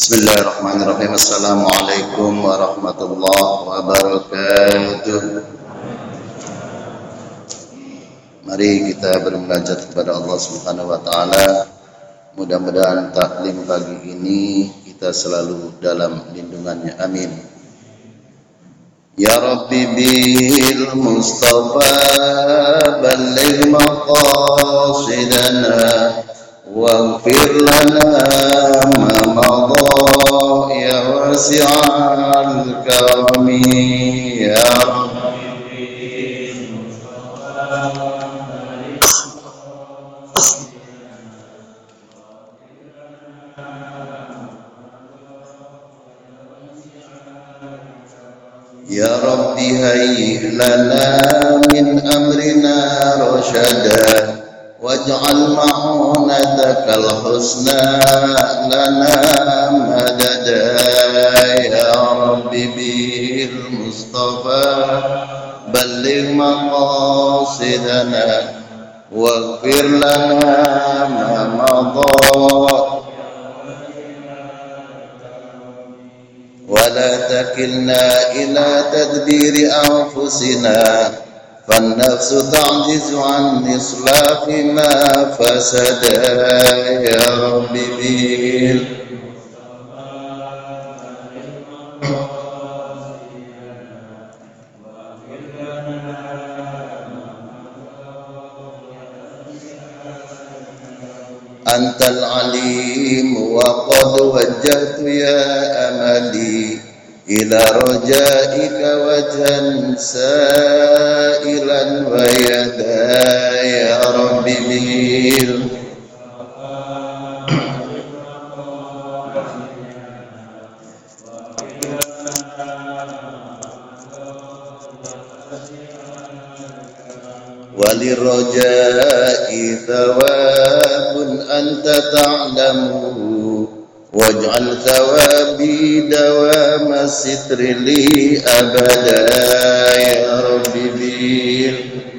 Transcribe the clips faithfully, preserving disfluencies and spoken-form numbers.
Bismillahirrahmanirrahim. Assalamualaikum warahmatullahi wabarakatuh. Mari kita bermunajat kepada Allah Subhanahu wa taala. Mudah-mudahan taklim pagi ini kita selalu dalam lindungannya. Amin. Ya Rabbi bil Mustafa balligh maqasidana waghfir lana ma madha ya wasi'al karami ya Rabbi ya Rabbi hayyi lana min amrina rasyada waj'al ma'unatakal husna lana madada ya Rabbi bil Mustafa balligh maqasidana waghfir lana ma madha wa la takilna ila tadbiri anfusina فالنفس تعجز عن إصلاح ما فسد يا رب بيل أنت العليم وقد وجهت يا أملي إلى رجائك وجها سائلا ويدا يا رب بيل وللرجاء ثواب أنت تعلمه واجعل ثوابي دوام الستر لي أبدا يا رب بيل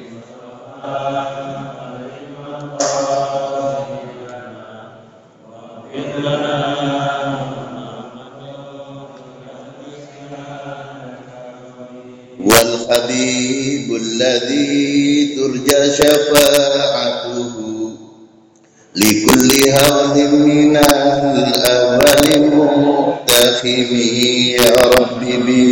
والحبيب الذي ترجى شفاعته لكل هول من الأول مقتحم يا رب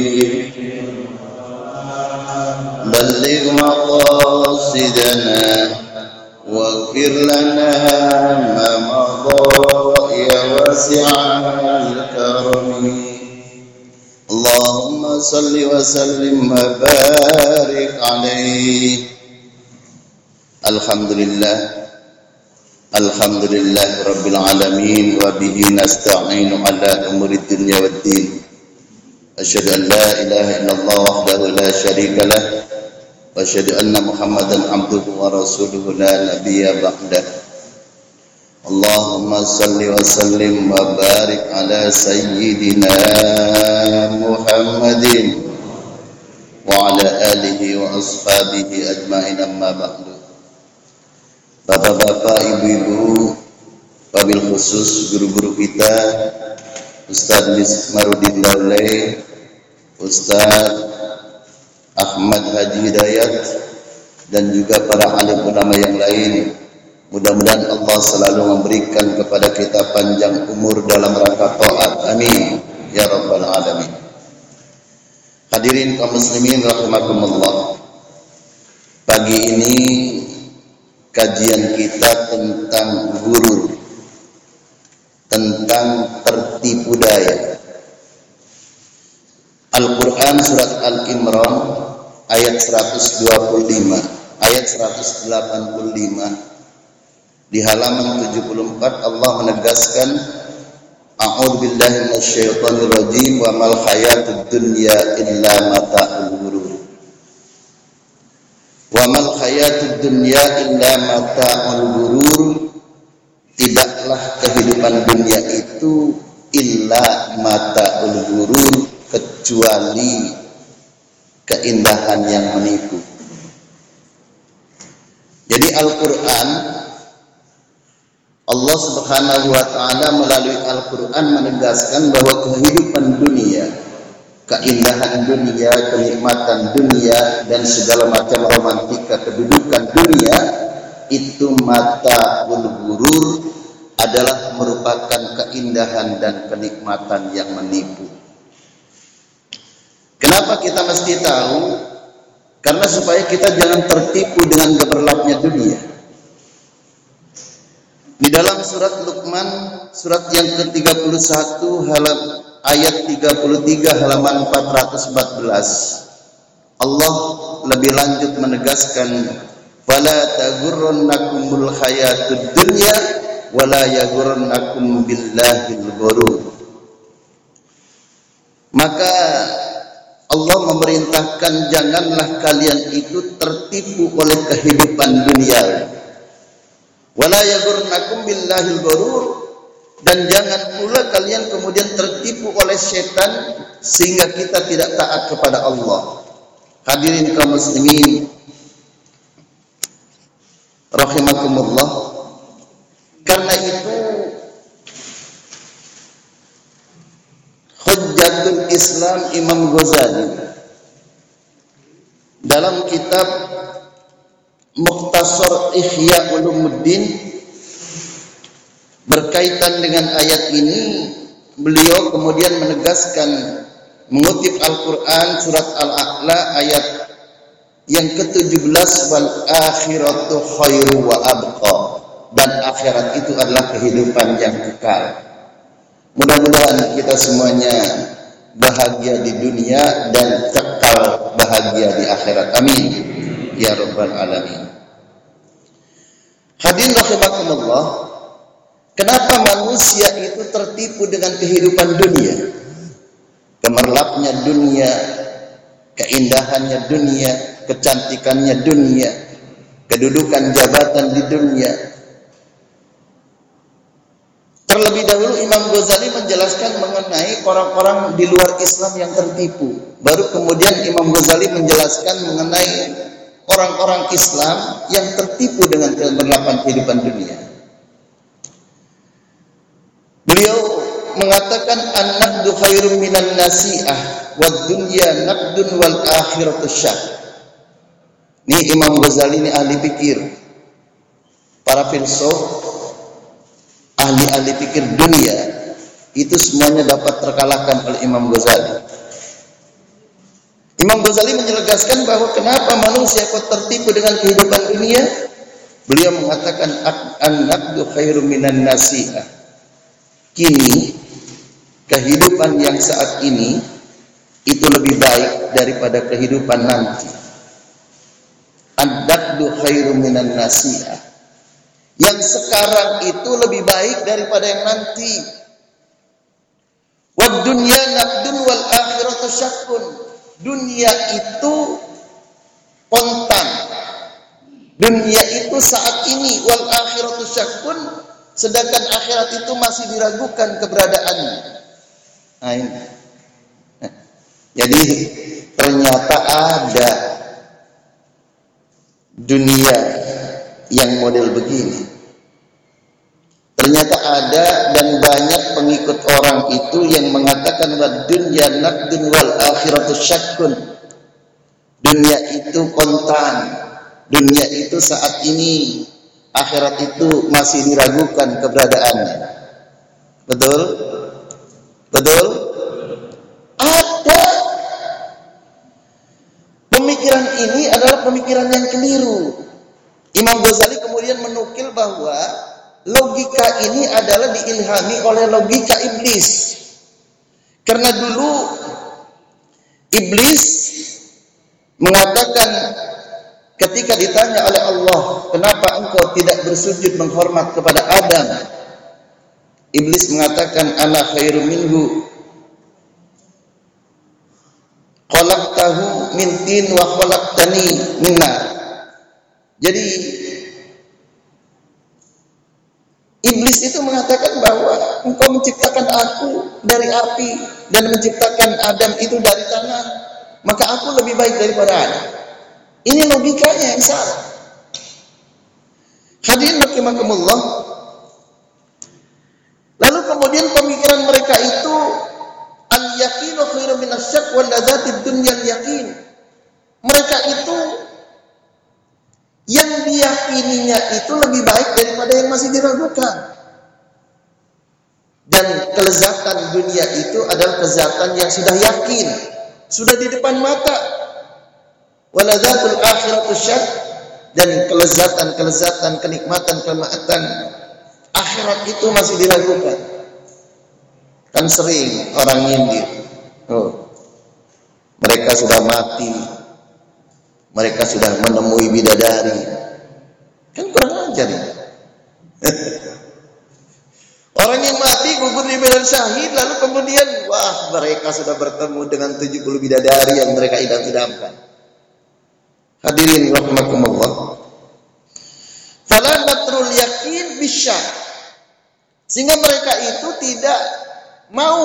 بلغ مقاصدنا واغفر لنا ما مضى يا واسع الكرم اللهم صل وسلم وبارك عليه. Alhamdulillah Alhamdulillah Rabbil Alamin wa bihi nasta'inu ala umurid dunya waddin. Asyhadu an la ilaha illallah wahdahu la syarika lah wa asyhadu anna Muhammadan abduhu wa rasuluhu la nabiyya ba'dah. Allahumma salli wa sallim wa barik ala sayyidina Muhammadin wa ala alihi wa ashabihi ajma'in amma ba'du. Bapak-bapak, ibu-ibu, wabil khusus guru-guru kita, Ustaz Mismarudin Daulay, Ustaz Ahmad Haji Hidayat, dan juga para alim ulama yang lain. Mudah-mudahan Allah selalu memberikan kepada kita panjang umur dalam rangka taat. Amin ya rabbal alamin. Hadirin kaum muslimin rahimakumullah. Pagi ini kajian kita tentang gurur, tentang tertipu daya. Al-Quran surat Al-Imran ayat seratus dua puluh lima, ayat seratus delapan puluh lima. Di halaman tujuh puluh empat Allah menegaskan, A'udzu billahi minasyaitonir rajim wa mal hayatud dunya illa mata'ul ghurur. Wa mal hayatud dunya illa mata'ul ghurur. Tidaklah kehidupan dunia itu illa mata'ul ghurur, kecuali keindahan yang menipu. Jadi Al-Quran Allah Allah Subhanahu wa taala melalui Al-Qur'an menegaskan bahwa kehidupan dunia, keindahan dunia, kenikmatan dunia, dan segala macam romantika kedudukan dunia itu mata ghurur, adalah merupakan keindahan dan kenikmatan yang menipu. Kenapa kita mesti tahu? Karena supaya kita jangan tertipu dengan gemerlapnya dunia. Di dalam surat Luqman, surat yang ke tiga puluh satu, halam, ayat tiga puluh tiga, halaman empat ratus empat belas, Allah lebih lanjut menegaskan, "Fala taghurrannakumul hayatud dunya wala yaghurrannakum billahil ghurur." Maka Allah memerintahkan janganlah kalian itu tertipu oleh kehidupan dunia. Wala yaghurrannakum billahil ghurur, dan jangan pula kalian kemudian tertipu oleh setan sehingga kita tidak taat kepada Allah. Hadirin kaum muslimin rahimakumullah, karena itu Hujjatul Islam Imam Ghazali dalam kitab Mukhtasar Ihya Ulumuddin berkaitan dengan ayat ini, beliau kemudian menegaskan, mengutip Al-Quran surat Al-A'la ayat yang ketujuh belas, wal akhiratu khairu wa abqa, dan akhirat itu adalah kehidupan yang kekal. Mudah-mudahan kita semuanya bahagia di dunia dan kekal bahagia di akhirat. Amin ya rabbal alamin. Hadirin rahimakumullah, kenapa manusia itu tertipu dengan kehidupan dunia? Gemerlapnya dunia, keindahannya dunia, kecantikannya dunia, kedudukan jabatan di dunia. Terlebih dahulu Imam Ghazali menjelaskan mengenai orang-orang di luar Islam yang tertipu. Baru kemudian Imam Ghazali menjelaskan mengenai orang-orang Islam yang tertipu dengan kemerlapan kehidupan dunia. Beliau mengatakan, an-naqdu khairum minan nasi'ah wad dunya naqdun wal akhiratu syah. Ini Imam Ghazali ini ahli pikir. Para filsuf, ahli-ahli pikir dunia itu semuanya dapat terkalahkan oleh Imam Ghazali. Imam Ghazali menjelaskan bahwa kenapa manusia kok tertipu dengan kehidupan dunia. Beliau mengatakan, an-naqdu khairum minan nasi'ah. Kini kehidupan yang saat ini itu lebih baik daripada kehidupan nanti. An-naqdu khairum minan nasi'ah. Yang sekarang itu lebih baik daripada yang nanti. Wad dunya naqdun wal akhiratu syakkun. Dunia itu kontan. Dunia itu saat ini, wal akhiratu syakkun, sedangkan akhirat itu masih diragukan keberadaannya. Nah ini. Jadi ternyata ada dunia yang model begini. Ternyata ada dan banyak pengikut orang itu yang mengatakan wa dunya naqdun wal akhiratu syakkun. Dunia itu kontan. Dunia itu saat ini, akhirat itu masih diragukan keberadaannya. Betul? Betul? Ada. Pemikiran ini adalah pemikiran yang keliru. Imam Ghazali kemudian menukil bahwa logika ini adalah diilhami oleh logika iblis. Karena dulu iblis mengatakan ketika ditanya oleh Allah, kenapa engkau tidak bersujud menghormat kepada Adam? Iblis mengatakan, ana khairum minhu, khalaqtahu min tin wa khalaqtani min nar. Jadi iblis itu mengatakan bahwa engkau menciptakan aku dari api dan menciptakan Adam itu dari tanah, maka aku lebih baik daripada Adam. Ini logikanya yang salah. Hadirin rahimakumullah, mereka itu al-yaqinu khairu minasyak wal ladzatid dunyal yaqin. Mereka itu yang diyakininya itu lebih baik daripada yang masih diragukan. Dan kelezatan dunia itu adalah kelezatan yang sudah yakin, sudah di depan mata. Waladzatul akhiratu syak, dan kelezatan-kelezatan, kenikmatan-kenikmatan akhirat itu masih diragukan. Kan sering orang nyindir, oh, mereka sudah mati, mereka sudah menemui bidadari. Kan kurang ajar ya. Orang yang mati gugur di medan syahid, lalu kemudian wah, mereka sudah bertemu dengan tujuh puluh bidadari yang mereka idam-idamkan. Hadirin rahimakumullah. Fala natrul yakin bisyak. Sehingga mereka itu tidak mau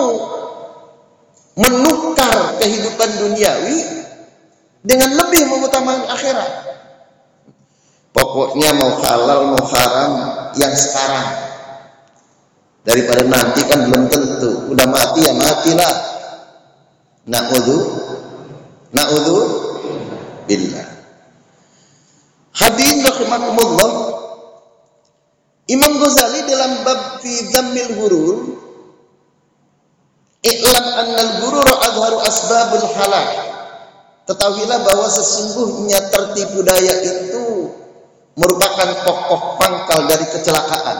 menukar kehidupan duniawi dengan lebih mengutamakan akhirat. Pokoknya mau halal mau haram yang sekarang, daripada nanti kan belum tentu. Udah mati ya matilah. Na'udzu na'udzu billah. Hadirin rahimakumullah, Imam Ghazali dalam bab fi dhammil ghurur, i'lam annal ghurur adharu asbabul halak. Ketahuilah bahwa sesungguhnya tertipu daya itu merupakan pokok pangkal dari kecelakaan.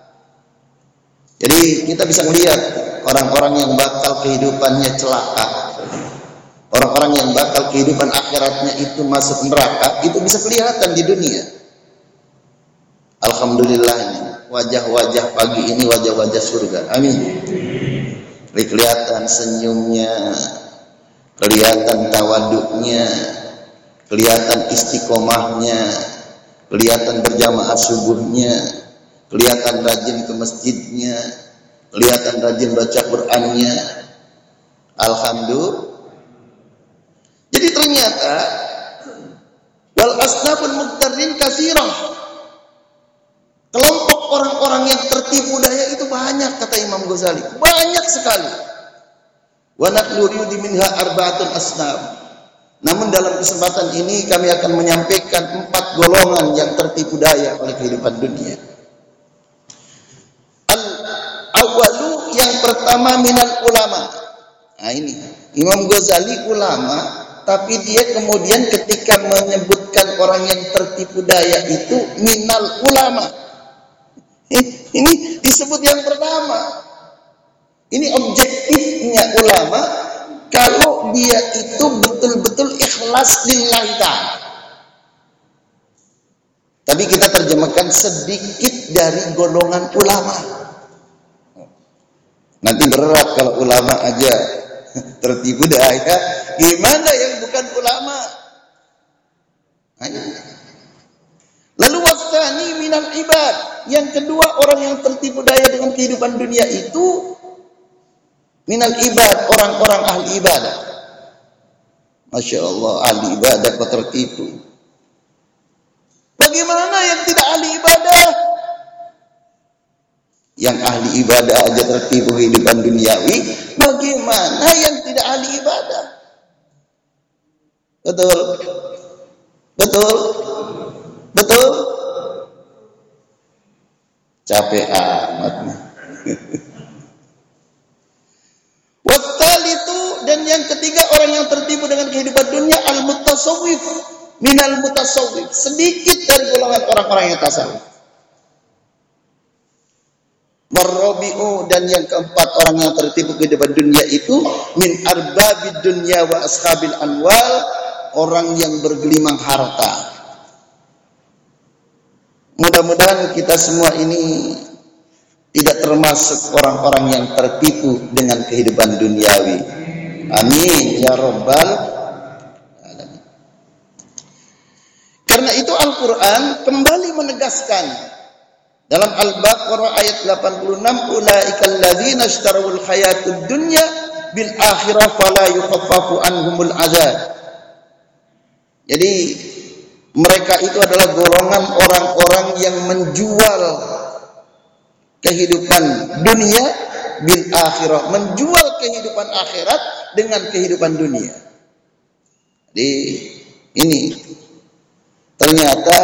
Jadi kita bisa melihat orang-orang yang bakal kehidupannya celaka, orang-orang yang bakal kehidupan akhiratnya itu masuk neraka, itu bisa kelihatan di dunia. Alhamdulillah, wajah-wajah pagi ini wajah-wajah surga. Amin. Kelihatan senyumnya, kelihatan tawaduknya, kelihatan istiqomahnya, kelihatan berjamaah subuhnya, kelihatan rajin ke masjidnya, kelihatan rajin baca Qur'annya. Alhamdulillah. Jadi ternyata wal asnaful muqtarrin katsirah. Kelompok orang-orang yang tertipu daya itu banyak, kata Imam Ghazali. Banyak sekali. Wa naqulu minha arba'atun asnaf. Namun dalam kesempatan ini kami akan menyampaikan empat golongan yang tertipu daya oleh kehidupan dunia. Al-awwalu, yang pertama, minal ulama. Nah ini, Imam Ghazali ulama, tapi dia kemudian ketika menyebutkan orang yang tertipu daya itu minal ulama. Ini disebut yang pertama. Ini objektifnya ulama kalau dia itu betul-betul ikhlas lillahi ta'ala. Tapi kita terjemahkan sedikit dari golongan ulama. Nanti berat kalau ulama aja tertipu daya, gimana yang bukan ulama? Ayo. Lalu wasani minal ibad, yang kedua orang yang tertipu daya dengan kehidupan dunia itu minal ibad, orang-orang ahli ibadah. Masya Allah, ahli ibadah kok tertipu. Bagaimana yang tidak ahli ibadah? Yang ahli ibadah aja tertipu kehidupan duniawi, bagaimana yang tidak ahli ibadah? Betul? Betul? Betul? Capek amat. Wattalitu, dan yang ketiga orang yang tertipu dengan kehidupan dunia al-mutasawwif minal mutasawwif, sedikit dari golongan orang-orang yang tasawuf. Warrabi'u, dan yang keempat orang yang tertipu kehidupan dunia itu min arbabid dunya wa ashabil anwal, orang yang bergelimang harta. Mudah-mudahan kita semua ini tidak termasuk orang-orang yang tertipu dengan kehidupan duniawi. Amin ya rabbal alamin. Karena itu Al-Quran kembali menegaskan dalam Al-Baqarah ayat delapan puluh enam, ulaikal ladzina ishtarawul hayatud dunya bil akhirah fala yukhaffafu anhumul adzab. Jadi mereka itu adalah golongan orang-orang yang menjual kehidupan dunia bil akhirah, menjual kehidupan akhirat dengan kehidupan dunia. Jadi ini ternyata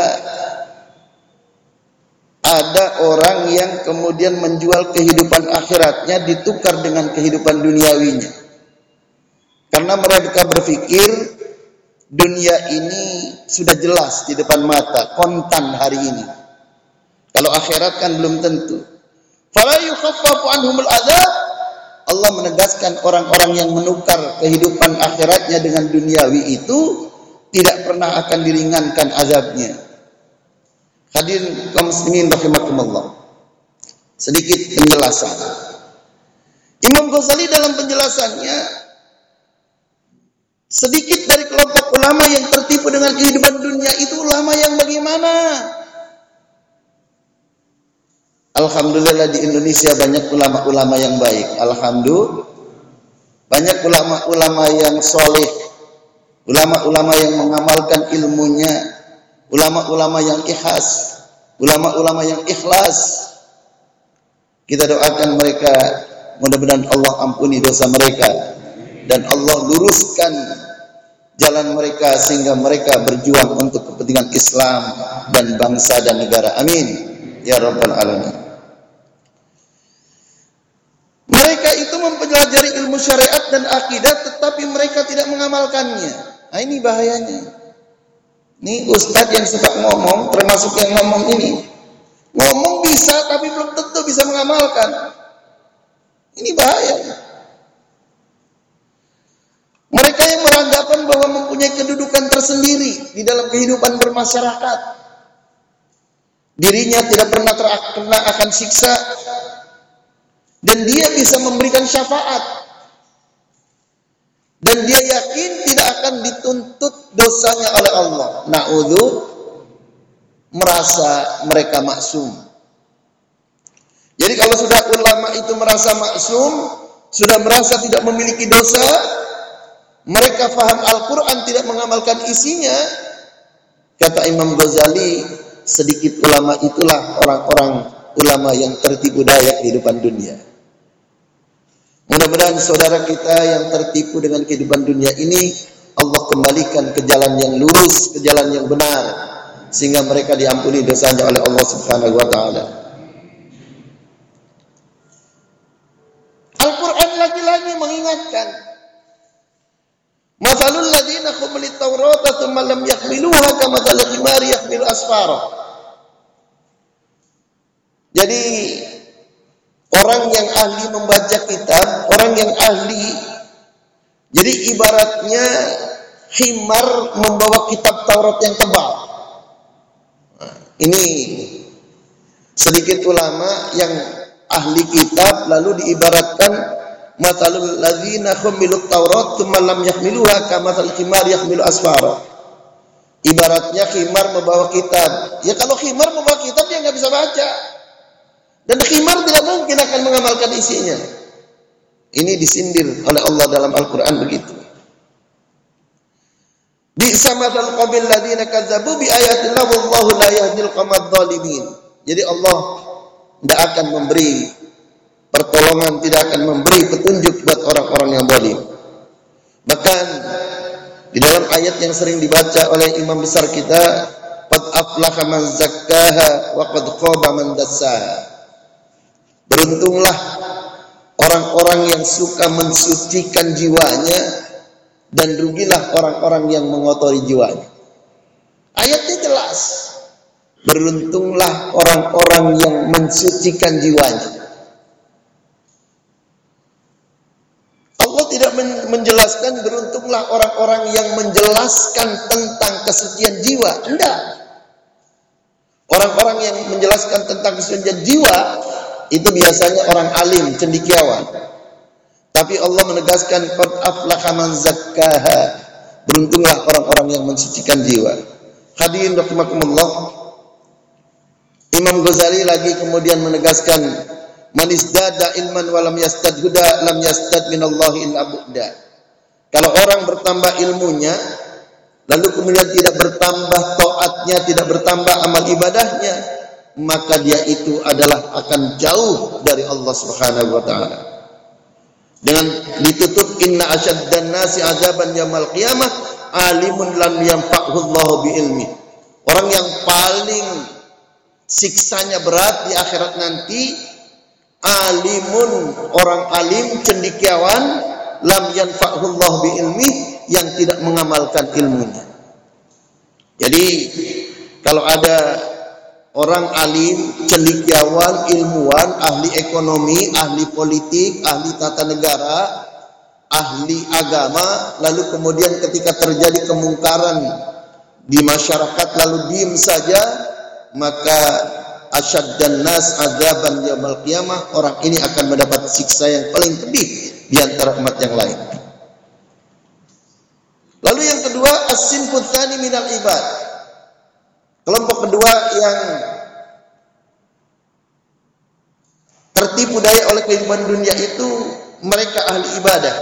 ada orang yang kemudian menjual kehidupan akhiratnya ditukar dengan kehidupan duniawinya. Karena mereka berpikir dunia ini sudah jelas di depan mata, kontan hari ini. Kalau akhirat kan belum tentu. Fala yukhaffafu anhumul adzab. Allah menegaskan orang-orang yang menukar kehidupan akhiratnya dengan duniawi itu tidak pernah akan diringankan azabnya. Hadirin kaum muslimin rahimakumullah. Sedikit penjelasan. Imam Ghazali dalam penjelasannya, sedikit dari kelompok ulama yang tertipu dengan kehidupan dunia itu ulama yang bagaimana? Alhamdulillah di Indonesia banyak ulama-ulama yang baik. Alhamdulillah banyak ulama-ulama yang soleh, ulama-ulama yang mengamalkan ilmunya, ulama-ulama yang ikhlas, ulama-ulama yang ikhlas. Kita doakan mereka, mudah-mudahan Allah ampuni dosa mereka dan Allah luruskan jalan mereka sehingga mereka berjuang untuk kepentingan Islam dan bangsa dan negara. Amin ya rabbal alamin. Mereka itu mempelajari ilmu syariat dan akidah tetapi mereka tidak mengamalkannya. Nah ini bahayanya. Ini ustadz yang suka ngomong, termasuk yang ngomong ini. Ngomong bisa tapi belum tentu bisa mengamalkan. Ini bahaya. Mereka yang beranggapan bahwa mempunyai kedudukan tersendiri di dalam kehidupan bermasyarakat. Dirinya tidak pernah terkena akan siksa. Dan dia bisa memberikan syafaat. Dan dia yakin tidak akan dituntut dosanya oleh Allah. Na'udzu, merasa mereka maksum. Jadi kalau sudah ulama itu merasa maksum, sudah merasa tidak memiliki dosa, mereka faham Al-Quran tidak mengamalkan isinya, kata Imam Ghazali, sedikit ulama itulah orang-orang ulama yang tertipu daya kehidupan dunia. Mudah-mudahan saudara kita yang tertipu dengan kehidupan dunia ini Allah kembalikan ke jalan yang lurus, ke jalan yang benar, sehingga mereka diampuni dosanya oleh Allah Subhanahu wa taala. Al-Qur'an lagi-lagi mengingatkan, "Matsalul ladzina humilut Taurata tsumma lam yahmiluha kamatsalil himari yahmilu asfara." Jadi orang yang ahli membaca kitab, orang yang ahli, jadi ibaratnya himar membawa kitab Taurat yang tebal. Nah, ini sedikit ulama yang ahli kitab lalu diibaratkan matalul ladzina humilut Taurat tsumma lam yahmiluha kamatsalil himar yahmilu asfara. Ibaratnya himar membawa kitab. Ya kalau himar membawa kitab dia nggak bisa baca. Dan khimar tidak mungkin akan mengamalkan isinya. Ini disindir oleh Allah dalam Al-Quran begitu. Bi'sa matsal qaumil ladzina kazzabu bi ayatillah wallahu la yahdil qaumadz dzalimin. Jadi Allah tidak akan memberi pertolongan, tidak akan memberi petunjuk buat orang-orang yang zalim. Bahkan di dalam ayat yang sering dibaca oleh imam besar kita, qad aflaha man zakkaha wa qad khaba man dassaha. Beruntunglah orang-orang yang suka mensucikan jiwanya dan rugilah orang-orang yang mengotori jiwanya. Ayatnya jelas. Beruntunglah orang-orang yang mensucikan jiwanya. Allah tidak menjelaskan beruntunglah orang-orang yang menjelaskan tentang kesucian jiwa. Tidak. Orang-orang yang menjelaskan tentang kesucian jiwa itu biasanya orang alim, cendekiawan. Tapi Allah menegaskan qad aflaha man zakkaha. Beruntunglah orang-orang yang mensucikan jiwa. Hadirin rahimakumullah. Imam Ghazali lagi kemudian menegaskan man isdada ilman wa lam yastad huda lam yastad minallahi illa bu'da. Kalau orang bertambah ilmunya lalu kemudian tidak bertambah taatnya, tidak bertambah amal ibadahnya, maka dia itu adalah akan jauh dari Allah Subhanahu wa taala. Dengan ditutup inna asyaddan nasi azaban yaumil qiyamah alimun lam yanfa'hu Allah bi ilmi. Orang yang paling siksanya berat di akhirat nanti alimun, orang alim cendekiawan lam yanfa'hu Allah bi ilmi, yang tidak mengamalkan ilmunya. Jadi kalau ada orang alim, cendekiawan, ilmuwan, ahli ekonomi, ahli politik, ahli tata negara, ahli agama, lalu kemudian ketika terjadi kemungkaran di masyarakat lalu diam saja, maka asyaddan nas azaban yaumil qiyamah, orang ini akan mendapat siksa yang paling pedih di antara umat yang lain. Lalu yang kedua, as-sinfut tsani minal ibad. Kelompok kedua yang tertipu daya oleh kehidupan dunia itu mereka ahli ibadah.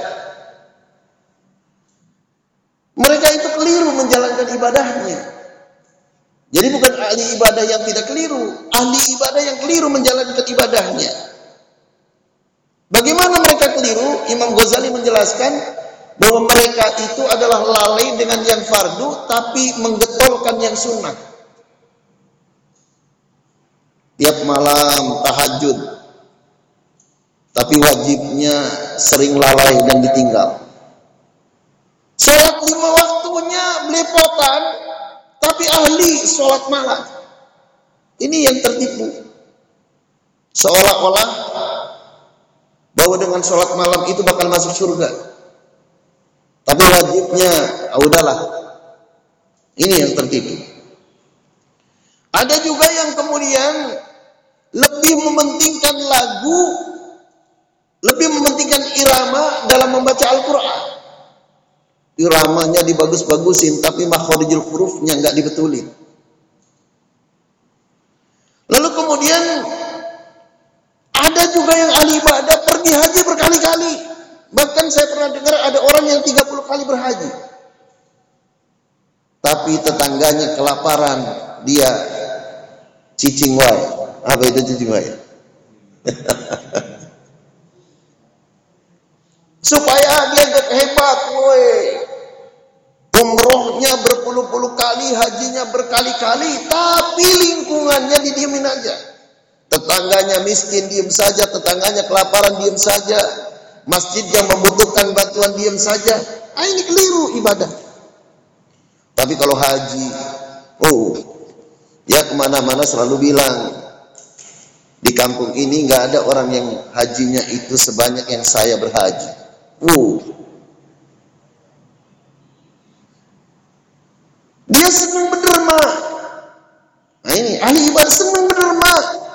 Mereka itu keliru menjalankan ibadahnya. Jadi bukan ahli ibadah yang tidak keliru, ahli ibadah yang keliru menjalankan ibadahnya. Bagaimana mereka keliru? Imam Ghazali menjelaskan bahwa mereka itu adalah lalai dengan yang fardu tapi menggetolkan yang sunnah. Tiap malam tahajud, tapi wajibnya sering lalai dan ditinggal. Sholat lima waktunya belepotan, tapi ahli sholat malam. Ini yang tertipu. Seolah-olah bahwa dengan sholat malam itu bakal masuk surga. Tapi wajibnya, ah, udahlah. Ini yang tertipu. Ada juga yang kemudian lebih mementingkan lagu, lebih mementingkan irama dalam membaca Al-Quran. Iramanya dibagus-bagusin, tapi makhorijul hurufnya nggak dibetulin. Lalu kemudian ada juga yang ahli ibadah pergi haji berkali-kali. Bahkan saya pernah dengar ada orang yang tiga puluh kali berhaji. Tapi tetangganya kelaparan, dia cicing wae. Apa itu cicing wae? Supaya dia hebat, woi. Umrohnya berpuluh-puluh kali, hajinya berkali-kali, tapi lingkungannya didiemin aja. Tetangganya miskin, diem saja. Tetangganya kelaparan, diem saja. Masjid yang membutuhkan bantuan, diem saja. Ah, ini keliru ibadah. Tapi kalau haji, oh, ya kemana-mana selalu bilang, di kampung ini nggak ada orang yang hajinya itu sebanyak yang saya berhaji. Oh, dia senang berderma. Nah ini ahli ibadah senang berderma.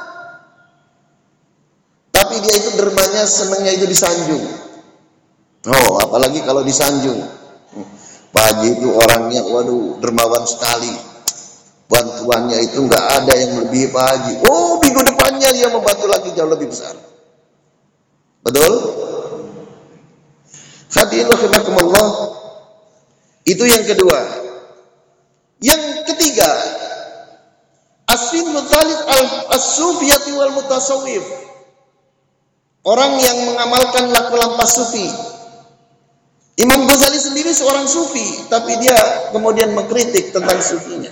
Tapi dia itu dermanya senangnya itu disanjung. Oh, apalagi kalau disanjung. Pak Haji itu orangnya, waduh, dermawan sekali. Bantuannya itu nggak ada yang lebih Pak Haji. Oh, minggu depannya dia membantu lagi jauh lebih besar. Betul? Hadirin rahimakumullah. Itu yang kedua. Yang ketiga, as-sinfut tsalits as-sufiyati wal mutasawwif. Orang yang mengamalkan laku lampas sufi. Imam Ghazali sendiri seorang sufi, tapi dia kemudian mengkritik tentang sufinya.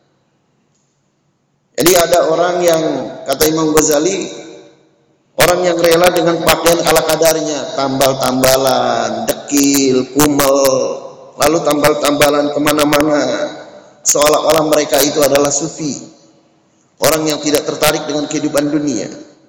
Jadi ada orang yang, kata Imam Ghazali, orang yang rela dengan pakaian ala kadarnya, tambal-tambalan, dekil, kumel, lalu tambal-tambalan kemana-mana, seolah-olah mereka itu adalah sufi. Orang yang tidak tertarik dengan kehidupan dunia.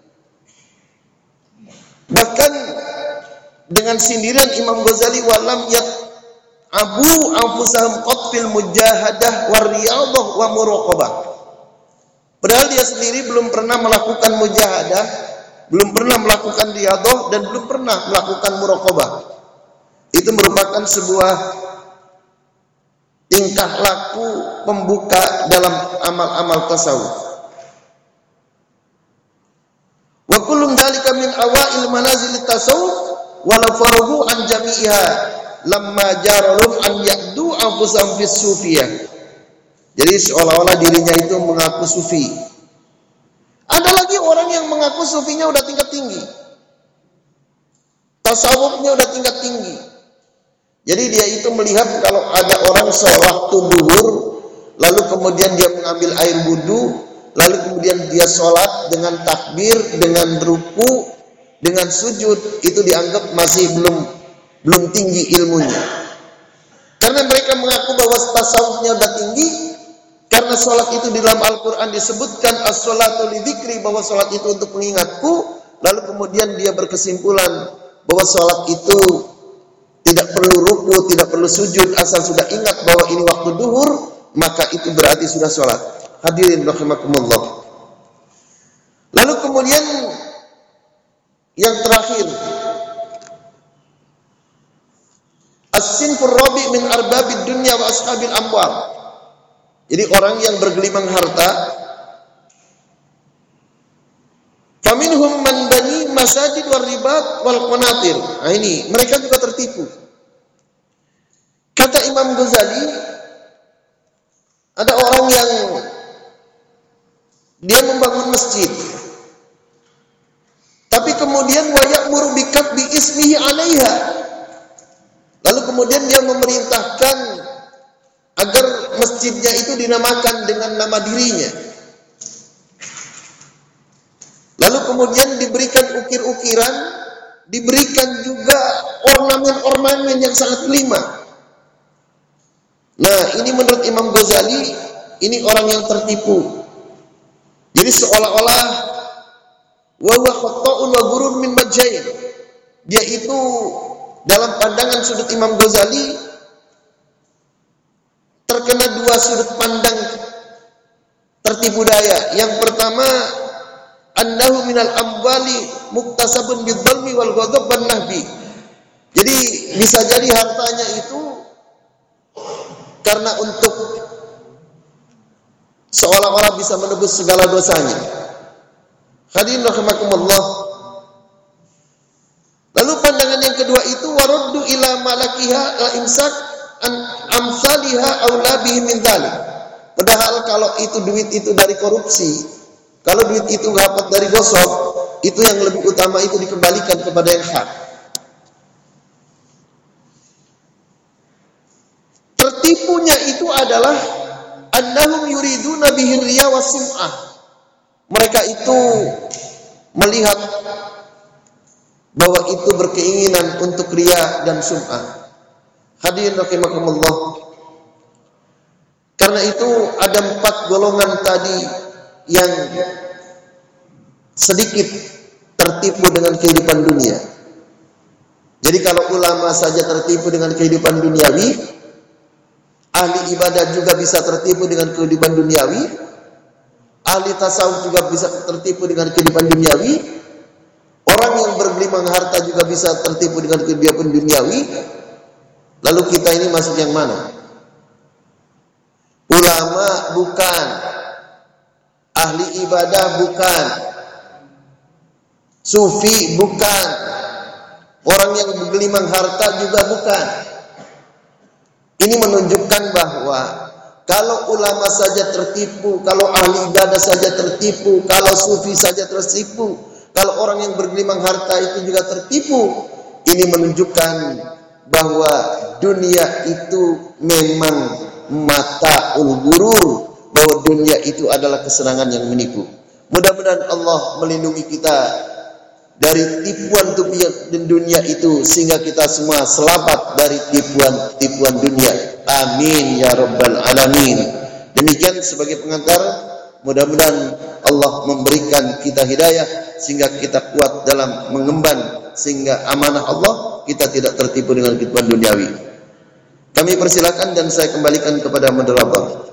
Bahkan dengan sindiran Imam Ghazali, walam yat abu anfusahum qatfil mujahadah warriyadah wa muraqabah. Padahal dia sendiri belum pernah melakukan mujahadah, belum pernah melakukan riyadah, dan belum pernah melakukan muraqabah. Itu merupakan sebuah tingkah laku pembuka dalam amal-amal tasawuf. Wa kullum dzalika min awail manazil tasawuf walau faruhu an jami'iha lamma jaralum an ya'du anfusahum fis sufiyah. Jadi seolah-olah dirinya itu mengaku sufi, sufinya udah tingkat tinggi. Tasawufnya udah tingkat tinggi. Jadi dia itu melihat kalau ada orang sewaktu duhur, lalu kemudian dia mengambil air wudu, lalu kemudian dia sholat dengan takbir, dengan ruku, dengan sujud, itu dianggap masih belum belum tinggi ilmunya. Karena mereka mengaku bahwa tasawufnya udah tinggi, karena sholat itu di dalam Al-Quran disebutkan as-sholatu lidzikri, bahwa sholat itu untuk mengingatku, lalu kemudian dia berkesimpulan bahwa sholat itu tidak perlu ruku, tidak perlu sujud, asal sudah ingat bahwa ini waktu duhur, maka itu berarti sudah sholat. Hadirin rahimakumullah. Lalu kemudian yang terakhir, as-sinfur rabi' min arbabid dunya wa ashabil amwal. Jadi orang yang bergelimang harta, faminhum man bani masajid wal ribat wal qanatir. Nah ini, mereka juga tertipu. Kata Imam Ghazali, ada orang yang dia membangun masjid, tapi kemudian wa ya'muru bi katbi ismihi 'alaiha. Lalu kemudian dia memerintahkan agar masjidnya itu dinamakan dengan nama dirinya. Lalu kemudian diberikan ukir-ukiran, diberikan juga ornamen-ornamen yang sangat kelima. Nah, ini menurut Imam Ghazali, ini orang yang tertipu. Jadi seolah-olah wa huwa khata'un wa ghurur min majjain. Dia itu dalam pandangan sudut Imam Ghazali terkena dua sudut pandang tertipu daya. Yang pertama, annahu minal amwali muktasabun bidzalmi wal ghadab wan nahbi. Jadi bisa jadi hartanya itu karena untuk seolah-olah bisa menebus segala dosanya. Hadirin rahimakumullah. Lalu pandangan yang kedua itu waraddu ila malakiha la imsak an amsalha aula bihi min dzalik. Padahal kalau itu duit itu dari korupsi, kalau duit itu dapat dari gosok, itu yang lebih utama itu dikembalikan kepada yang hak. Tertipunya itu adalah annahum yuriduna bihi riya wa sum'ah. Mereka itu melihat bahwa itu berkeinginan untuk riya dan sum'ah. Hadirin rahimakumullah. Karena itu ada empat golongan tadi yang sedikit tertipu dengan kehidupan dunia. Jadi kalau ulama saja tertipu dengan kehidupan duniawi, ahli ibadah juga bisa tertipu dengan kehidupan duniawi, ahli tasawuf juga bisa tertipu dengan kehidupan duniawi, orang yang bergelimang harta juga bisa tertipu dengan kehidupan duniawi. Lalu kita ini masuk yang mana? Ulama bukan, ahli ibadah bukan, sufi bukan, orang yang bergelimang harta juga bukan. Ini menunjukkan bahwa kalau ulama saja tertipu, kalau ahli ibadah saja tertipu, kalau sufi saja tertipu, kalau orang yang bergelimang harta itu juga tertipu, ini menunjukkan bahwa dunia itu memang mata'ul ghurur, bahwa dunia itu adalah kesenangan yang menipu. Mudah-mudahan Allah melindungi kita dari tipuan-tipuan dunia itu, sehingga kita semua selamat dari tipuan-tipuan dunia. Amin ya rabbal alamin. Demikian sebagai pengantar, mudah-mudahan Allah memberikan kita hidayah sehingga kita kuat dalam mengemban, sehingga amanah Allah kita tidak tertipu dengan kehidupan duniawi. Kami persilakan dan saya kembalikan kepada moderator.